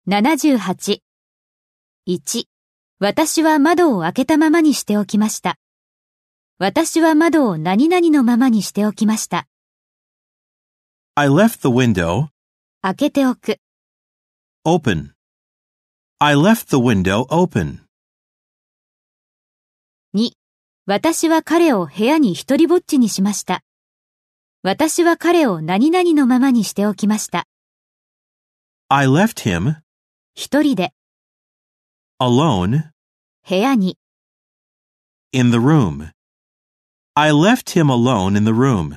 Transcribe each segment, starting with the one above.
78。1、私は窓を開けたままにしておきました。私は窓を何々のままにしておきました。 I left the window 開けておく。 open. I left the window open. 2、私は彼を部屋に一人ぼっちにしました。私は彼を何々のままにしておきました。 I left him 一人で、 alone 部屋に。 in the room. I left him alone in the room.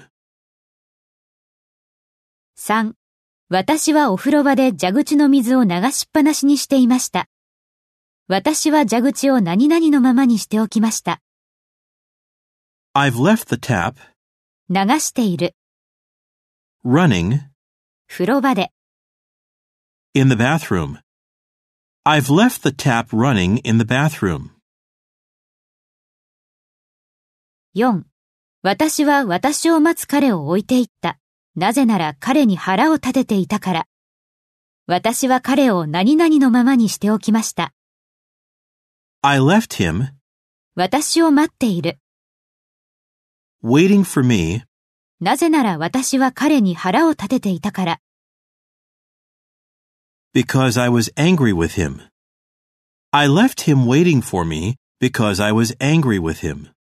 3、私はお風呂場で蛇口の水を流しっぱなしにしていました。私は蛇口を何々のままにしておきました。 I've left the tap 流している。 running 風呂場で。 in the bathroom. I've left the tap running in the bathroom. 4、私は私を待つ彼を置いていった。なぜなら彼に腹を立てていたから。私は彼を何々のままにしておきました。 I left him 私を待っている。 waiting for me なぜなら私は彼に腹を立てていたから。 because I was angry with him. I left him waiting for me because I was angry with him.